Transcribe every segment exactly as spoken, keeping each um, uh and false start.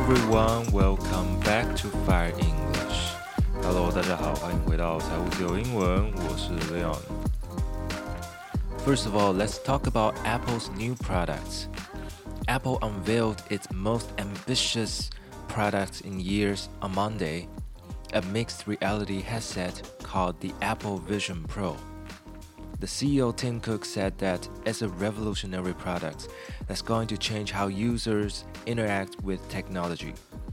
everyone, welcome back to Fire English. Hello, 大家好，歡迎回到財務自由英文，我是 Leon. First of all, let's talk about Apple's new products. Apple unveiled its most ambitious products in years on Monday, a mixed reality headset called the Apple Vision Pro.The C E O Tim Cook said that it's a revolutionary product that's going to change how users interact with technology.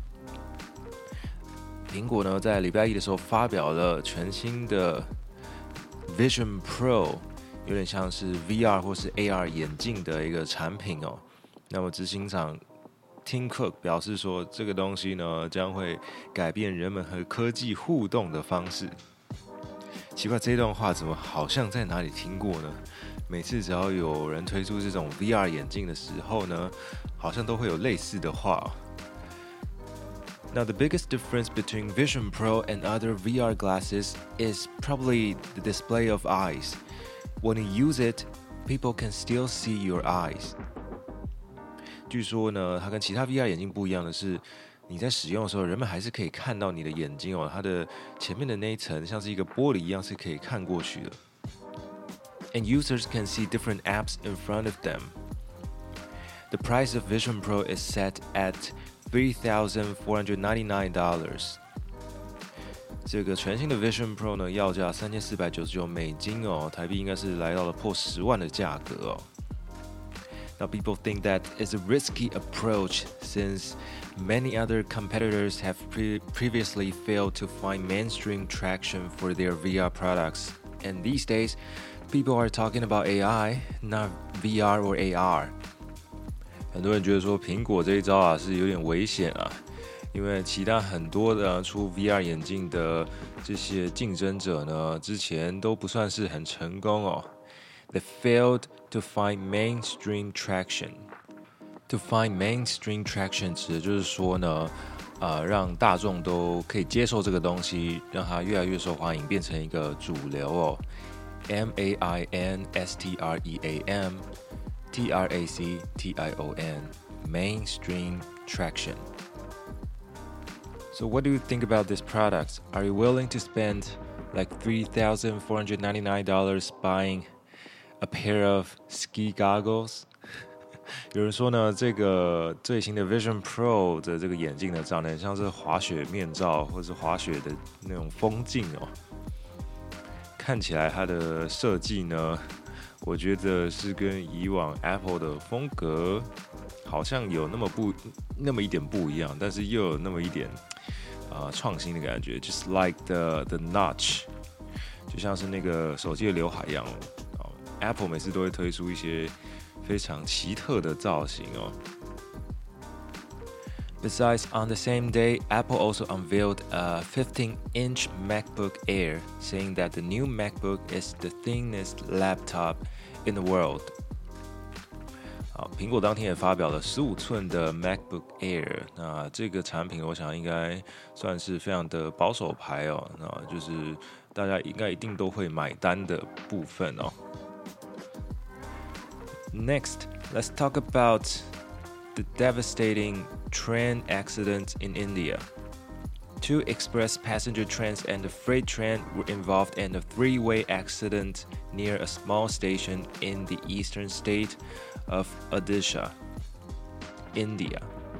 蘋果呢，在禮拜一的時候發表了全新的 Vision Pro， 有點像是 V R 或是 A R 眼鏡的一個產品哦。那麼執行長 Tim Cook 表示說，這個東西呢將會改變人們和科技互動的方式。奇怪，這段話怎麼好像在哪裡聽過呢？每次只要有人推出這種 V R 眼鏡的時候呢，好像都會有類似的話哦。Now, the biggest difference between Vision Pro and other V R glasses is probably the display of eyes. When you use it, people can still see your eyes. 據說呢，它跟其他 V R 眼鏡不一樣的是，你在使用的時候，人們還是可以看到你的眼睛哦，它的前面的那一層像是一個玻璃一樣，是可以看過去的。And users can see different apps in front of them. The price of Vision Pro is set at three thousand four hundred ninety-nine dollars. 這個全新的 Vision Pro 呢，要價三千四百九十九美金哦，台幣應該是來到了破十萬的價格哦。Now, people think that it's a risky approach since many other competitors have pre- previously failed to find mainstream traction for their V R products. And these days, people are talking about A I, not V R or A R. 很多人覺得說蘋果這一招啊是有點危險啊，因為其他很多的出 V R 眼鏡的這些競爭者呢，之前都不算是很成功哦。They failed to find mainstream traction.To find mainstream traction 指的就是說呢，呃，讓大眾都可以接受這個東西，讓它越來越受歡迎，變成一個主流哦。M A I N S T R E A M T R A C T I O N Mainstream traction. So what do you think about this product? Are you willing to spend like three thousand four hundred ninety-nine dollars buying a pair of ski goggles?有人說呢，這個最新的 Vision Pro 的這個眼鏡呢，長得很像是滑雪面罩或是滑雪的那種風鏡哦。看起來它的設計呢，我覺得是跟以往 Apple 的風格好像有那麼不那麼一點不一樣，但是又有那麼一點啊、呃、創新的感覺 ，just like the the notch， 就像是那個手機的劉海一樣哦。Apple 每次都會推出一些非常奇特的造型哦。Besides, on the same day, Apple also unveiled a fifteen-inch MacBook Air, saying that the new MacBook is the thinnest laptop in the world. 好，蘋果當天也發表了十五寸的 MacBook Air， 那這個產品我想應該算是非常的保守牌哦，那就是大家應該一定都會買單的部分哦。Next, let's talk about the devastating train accident in India. Two express passenger trains and a freight train were involved in a three-way accident near a small station in the eastern state of Odisha, India.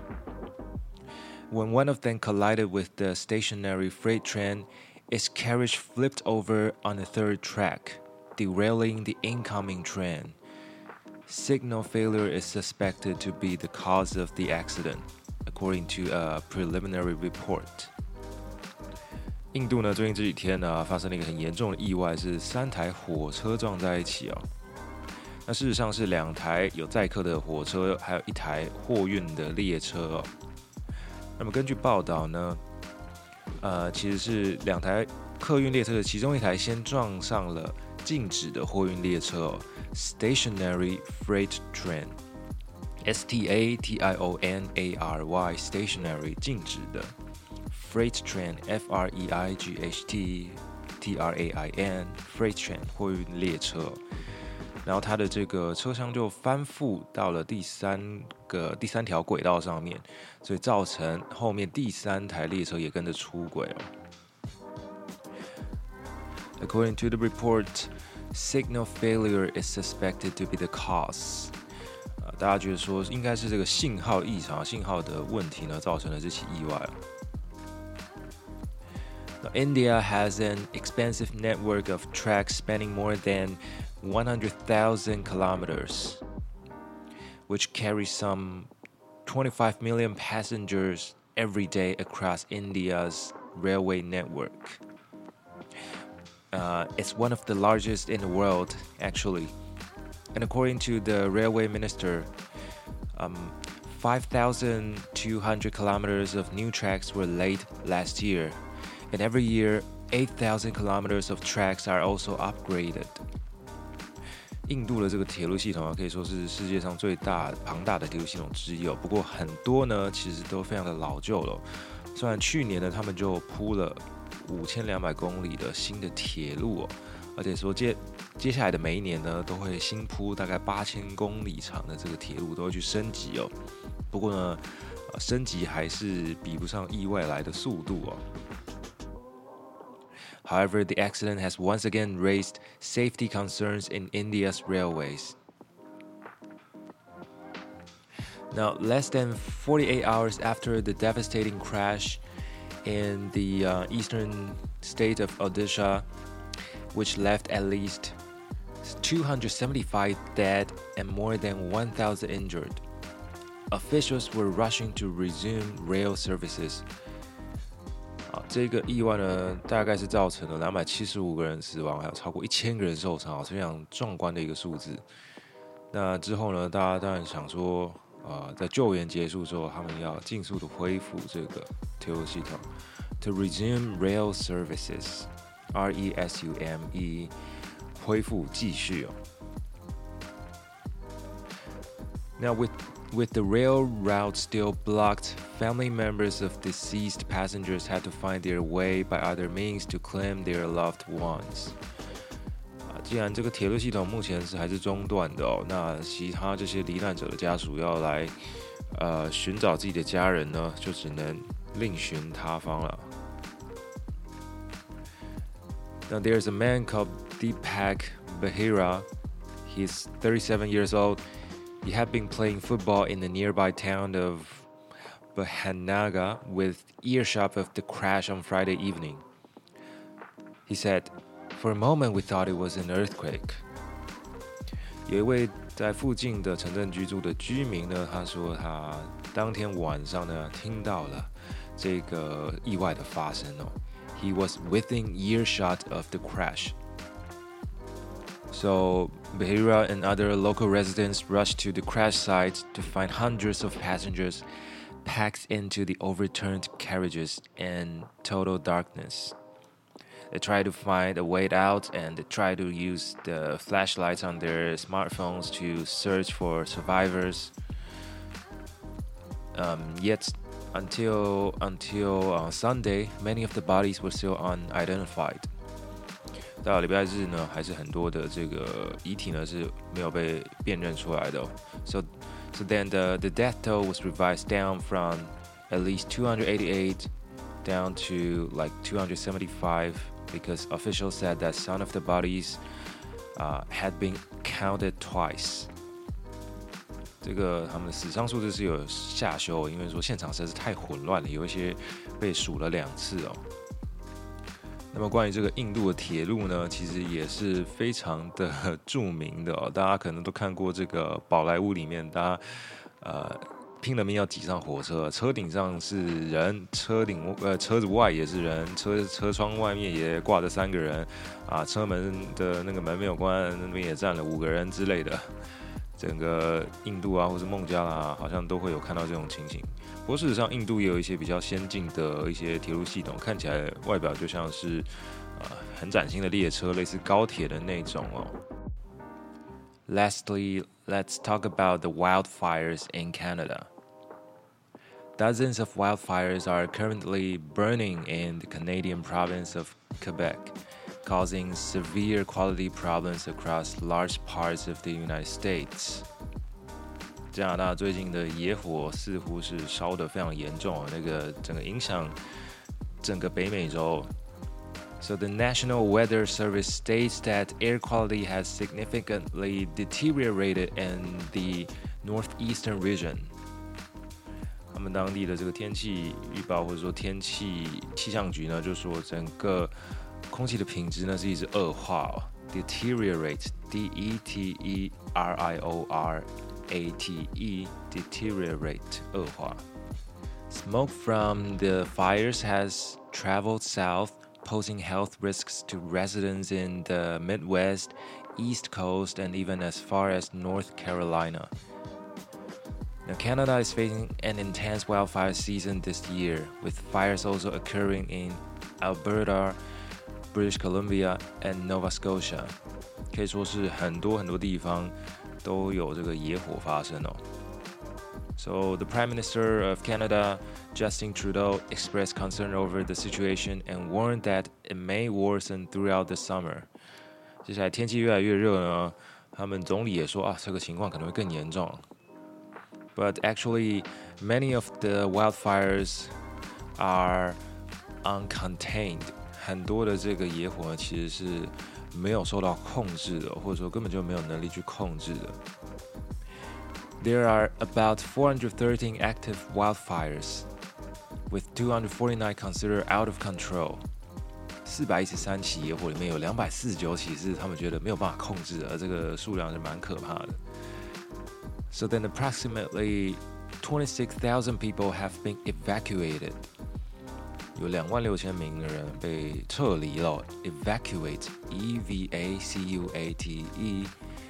When one of them collided with the stationary freight train, its carriage flipped over on the third track, derailing the incoming train.Signal failure is suspected to be the cause of the accident, according to a preliminary report. 印度呢，最近這幾天呢，發生了一個很嚴重的意外，是三台火車撞在一起哦。那事實上是兩台有載客的火車，還有一台貨運的列車哦。那麼根據報道呢，呃，其實是兩台客運列車的其中一台先撞上了靜止的貨運列車哦。Stationary freight train, S T A T I O N A R Y, stationary 靜止的 freight train, F R E I G H T T R A I N, freight train 貨運列車。 然後它的這個車廂就翻覆到了第三個第三條軌道上面，所以造成後面第三台列車也跟着出軌哦。According to the report, signal failure is suspected to be the cause. 呃，大家覺得說應該是這個信號異常、信號的問題呢，造成了這起意外。Now, India has an expansive network of tracks spanning more than one hundred thousand kilometers, which carry some twenty-five million passengers every day across India's railway network. Uh, it's one of the largest in the world, actually. And according to the railway minister, um, five thousand two hundred kilometers of new tracks were laid last year. And every year, eight thousand kilometers of tracks are also upgraded. 印度的這個鐵路系統啊，可以說是世界上最大龐大的鐵路系統之一哦。不過很多呢，其實都非常的老舊了。雖然去年呢，他們就鋪了五千兩百公里的新的鐵路哦，而且說接接下來的每一年呢，都會新鋪大概八千公里長的這個鐵路，都會去升級哦。不過呢，升級還是比不上意外來的速度哦。However, the accident has once again raised safety concerns in India's railways. Now, less than forty-eight hours after the devastating crash in the uh, eastern state of Odisha, which left at least two hundred seventy-five dead and more than one thousand injured, officials were rushing to resume rail services. 啊，這個意外呢，大概是造成了兩百七十五個人死亡，還有超過一千個人受傷，是非常壯觀的一個數字。那之後呢，大家當然想說，呃，在救援結束之後，他們要盡速的恢復這個鐵路系統 ，to resume rail services, R E S U M E， 恢復繼續哦。Now with With the rail route still blocked, family members of deceased passengers had to find their way by other means to claim their loved ones. 啊，既然這個鐵路系統目前是還是中斷的哦，那其他這些罹難者的家屬要來呃尋找自己的家人呢，就只能另尋他方了。Now there's a man called Deepak Behera. He's thirty-seven years old.He had been playing football in the nearby town of Bahanaga with earshot of the crash on Friday evening. He said, "For a moment, we thought it was an earthquake." 有一位在附近的城鎮居住的居民呢，他說他當天晚上呢聽到了這個意外的發生哦。He was within earshot of the crash.So, Behera and other local residents rushed to the crash site to find hundreds of passengers packed into the overturned carriages in total darkness. They tried to find a way out and they tried to use the flashlights on their smartphones to search for survivors. Um, yet, until, until uh, Sunday, many of the bodies were still unidentified.到禮拜日呢，還是很多的這個遺體呢是沒有被辨認出來的哦。So, so then the the death toll was revised down from at least two hundred eighty-eight down to like two hundred seventy-five because officials said that some of the bodies uh, had been counted twice. 这個他們的死傷數字是有下修，因為說現場實在是太混亂了，有一些被數了兩次哦。那麼關於這個印度的鐵路呢，其實也是非常的著名的哦。大家可能都看過這個寶萊塢裡面，大家呃拼了命要擠上火車，車頂上是人，車頂呃車子外也是人，車車窗外面也掛着三個人啊，車門的那個門沒有關，那邊也站了五個人之類的。整個印度啊，或是孟加拉，好像都會有看到這種情形。不過事實上，印度也有一些比較先進的一些鐵路系統，看起來外表就像是呃很嶄新的列車，類似高鐵的那種哦。Lastly, let's talk about the wildfires in Canada. Dozens of wildfires are currently burning in the Canadian province of Quebec, causing severe quality problems across large parts of the United States. 加拿大最近的野火似乎是燒得非常嚴重，那個整個影響整個北美洲。So the National Weather Service states that air quality has significantly deteriorated in the northeastern region. 他們當地的這個天氣預報或者說天氣氣象局呢，就說整個空氣的品質呢是一直惡化哦 ，deteriorate, D E T E R I O R A T E, deteriorate 惡化。Smoke from the fires has traveled south.Posing health risks to residents in the Midwest, East Coast, and even as far as North Carolina. Now, Canada is facing an intense wildfire season this year, with fires also occurring in Alberta, British Columbia, and Nova Scotia. 可以說是很多很多地方都有這個野火發生哦。So the Prime Minister of Canada, Justin Trudeau, expressed concern over the situation and warned that it may worsen throughout the summer. 接下來天氣越來越熱呢，他們總理也說啊，這個情況可能會更嚴重。But actually, many of the wildfires are uncontained. 很多的這個野火呢，其實是沒有受到控制的，或者說根本就沒有能力去控制的。There are about four hundred thirteen active wildfires, with two hundred forty-nine considered out of control. 四百一十三起野火裡面有两百四十九起是他們覺得沒有辦法控制的，這個數量是蠻可怕的。So then approximately twenty-six thousand people have been evacuated. 有兩萬六千名的人被撤離了 ，evacuate, E V A C U A T E,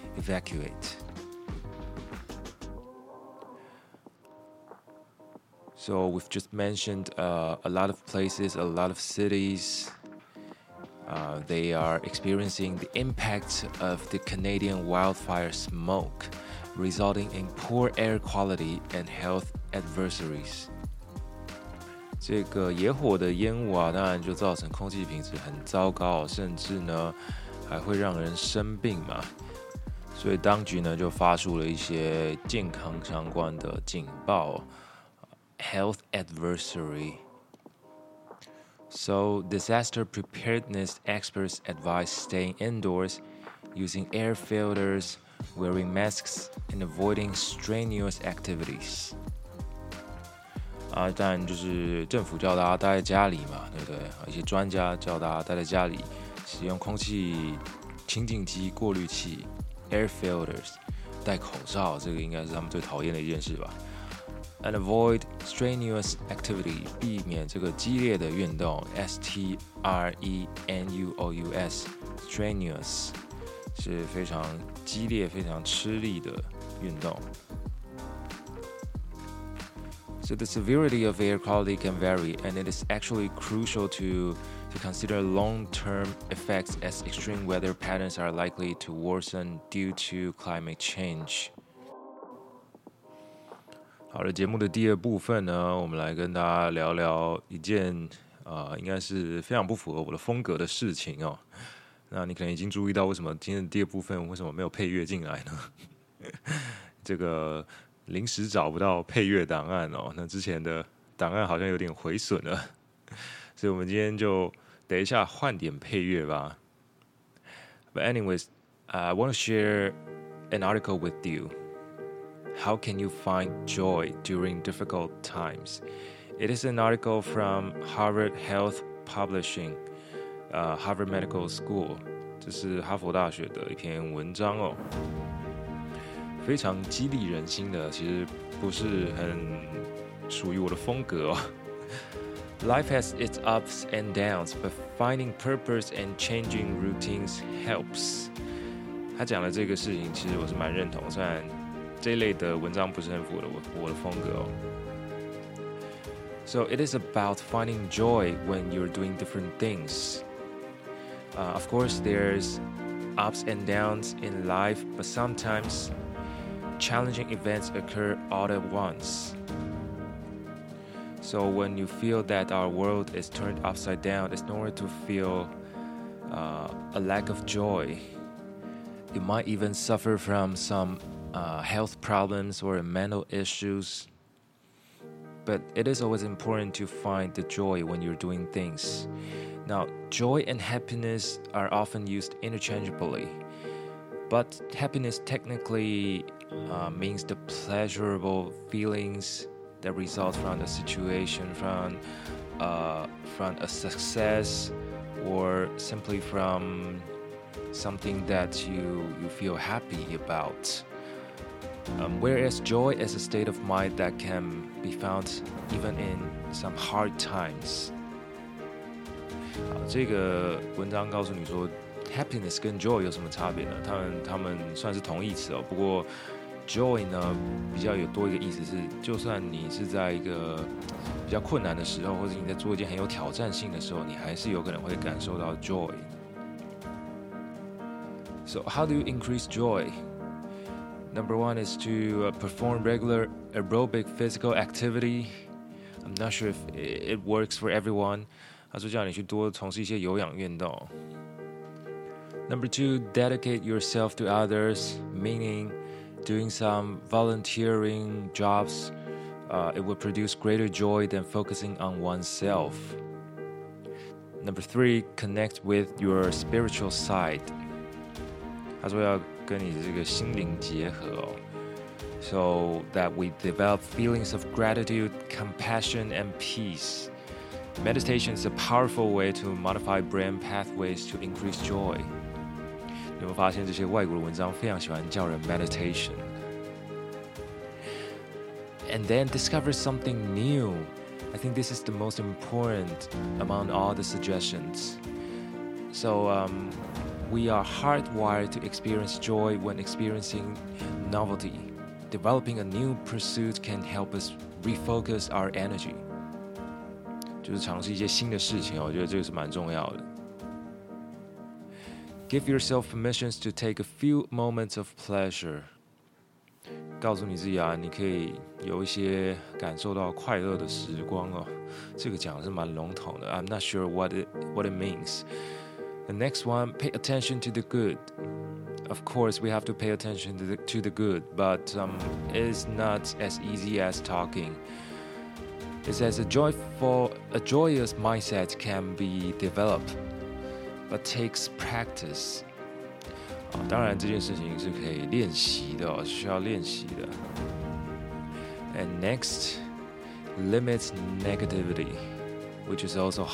evacuate.So we've just mentioned uh, a lot of places, a lot of cities. Uh, they are experiencing the impact of the Canadian wildfire smoke, resulting in poor air quality and health adversaries. 这個野火的煙霧啊，當然就造成空氣品質很糟糕，甚至呢還會讓人生病嘛。所以當局呢就發出了一些健康相關的警報。Health adversary. So, disaster preparedness experts advise staying indoors, using air filters, wearing masks, and avoiding strenuous activities. 啊，当然就是政府叫大家待在家裡嘛，对不对？一些专家叫大家待在家裡，使用空氣清淨機、過濾器 （air filters）， 戴口罩，這個應該是他們最討厭的一件事吧。And avoid strenuous activity, 避免這個激烈的運動 S T R E N U O U S, strenuous 是非常激烈、非常吃力的運動。So the severity of air quality can vary, and it is actually crucial to, to consider long-term effects as extreme weather patterns are likely to worsen due to climate change.好的，節目的第二部分呢，我們來跟大家聊聊一件呃，應該是非常不符合我的風格的事情哦。那你可能已經注意到，為什麼今天的第二部分為什麼沒有配樂進來呢？這個臨時找不到配樂檔案哦，那之前的檔案好像有點毀損了，所以我們今天就等一下換點配樂吧。But anyways, I want to share an article with you.How can you find joy during difficult times? It is an article from Harvard Health Publishing, uh, Harvard Medical School. 這是哈佛大學的一篇文章哦，非常激勵人心的，其實不是很屬於我的風格哦。Life has its ups and downs, but finding purpose and changing routines helps. 他講的這個事情，其實我是蠻認同，雖然這一類的文章不是很符合我的風格哦。So it is about finding joy when you're doing different things. Uh, of course, there's ups and downs in life, but sometimes challenging events occur all at once. So when you feel that our world is turned upside down, it's normal to feel uh, a lack of joy. You might even suffer from some uh, health problems or mental issues. But it is always important to find the joy when you're doing things. Now, joy and happiness are often used interchangeably. But happiness technically uh, means the pleasurable feelings that result from the situation, from, uh, from a success, or simply from something that you, you feel happy about. Um, whereas joy is a state of mind that can be found even in some hard times. 好，這個文章告訴你說 ，happiness 跟 joy 有什麼差別呢？他們他們算是同義詞哦。不過 joy 呢比較有多一個意思是，就算你是在一個比較困難的時候，或者你在做一件很有挑戰性的時候，你還是有可能會感受到 joy。So how do you increase joy?Number one is to uh, perform regular aerobic physical activity. I'm not sure if it works for everyone. 他說叫你去多從事一些有氧運動。Number two, dedicate yourself to others, meaning doing some volunteering jobs. Uh, it will produce greater joy than focusing on oneself. Number three, connect with your spiritual side. 他說要跟你的這個心靈結合哦 so that we develop feelings of gratitude, compassion, and peace. Meditation is a powerful way to modify brain pathways to increase joy. 你有沒有發現這些外國的文章非常喜歡叫人 meditation? And then discover something new. I think this is the most important among all the suggestions. So, um, we are hardwired to experience joy when experiencing novelty. Developing a new pursuit can help us refocus our energy. 就是嘗試一些新的事情，我覺得這個是蠻重要的。Give yourself permissions to take a few moments of pleasure. 告訴你自己啊，你可以有一些感受到快樂的時光哦。這個講的是蠻籠統的。I'm not sure what it what it means.The next one, pay attention to the good. Of course, we have to pay attention to the, to the good, but um, it's not as easy as talking. It says a joyful, a joyous mindset can be developed, but takes practice. 當然，這件事情是可以練習的哦，需要練習的。And next, limit negativity, which is also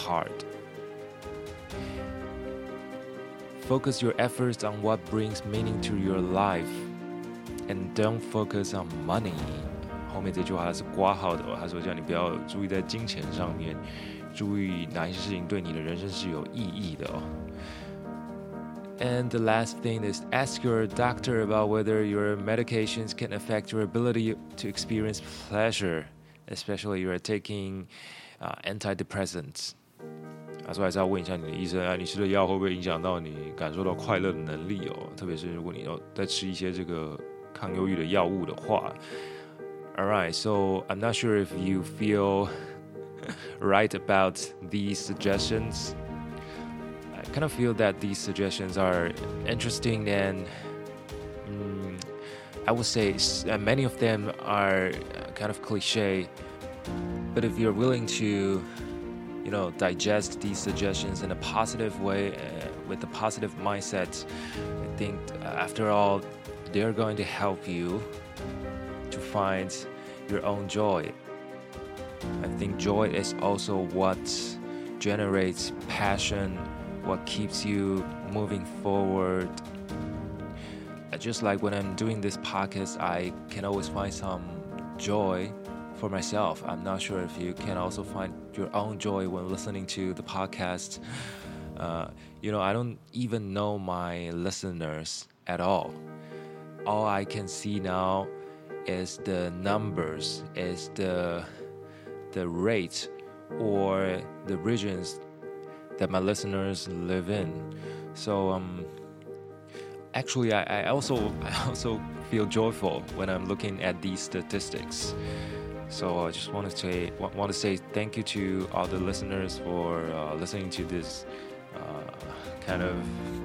hard.Focus your efforts on what brings meaning to your life, and don't focus on money. 後面這句話是括號的哦，他說叫你不要注意在金錢上面，注意哪些事情對你的人生是有意義的哦。And the last thing is ask your doctor about whether your medications can affect your ability to experience pleasure, especially you are taking uh, antidepressants.他說還是要問一下你的醫生啊，你吃的藥會不會影響到你感受到快樂的能力哦？特別是如果你要在吃一些這個抗憂鬱的藥物的話。Alright, so I'm not sure if you feel right about these suggestions. I kind of feel that these suggestions are interesting and um, I would say many of them are kind of cliche. But if you're willing to you know, digest these suggestions in a positive way, uh, with a positive mindset, I think uh, after all, they're going to help you to find your own joy. I think joy is also what generates passion, what keeps you moving forward. Uh, just like when I'm doing this podcast, I can always find some joy for myself. I'm not sure if you can also find your own joy when listening to the podcast. Uh, you know, I don't even know my listeners at all. All I can see now is the numbers, is the the rate or the regions that my listeners live in. So um, actually, I, I also I also feel joyful when I'm looking at these statistics. So I just want to say want to say thank you to all the listeners for uh, listening to this uh, kind of,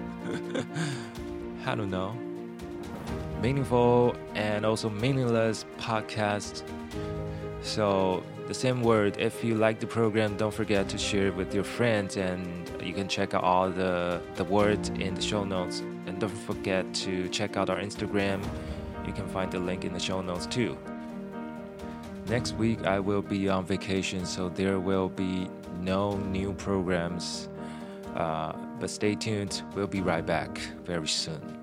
I don't know, meaningful and also meaningless podcast. So the same word, if you like the program, don't forget to share it with your friends, and you can check out all the, the words in the show notes. And don't forget to check out our Instagram. You can find the link in the show notes too. Next week I will be on vacation, so there will be no new programs. Uh, but stay tuned. We'll be right back very soon.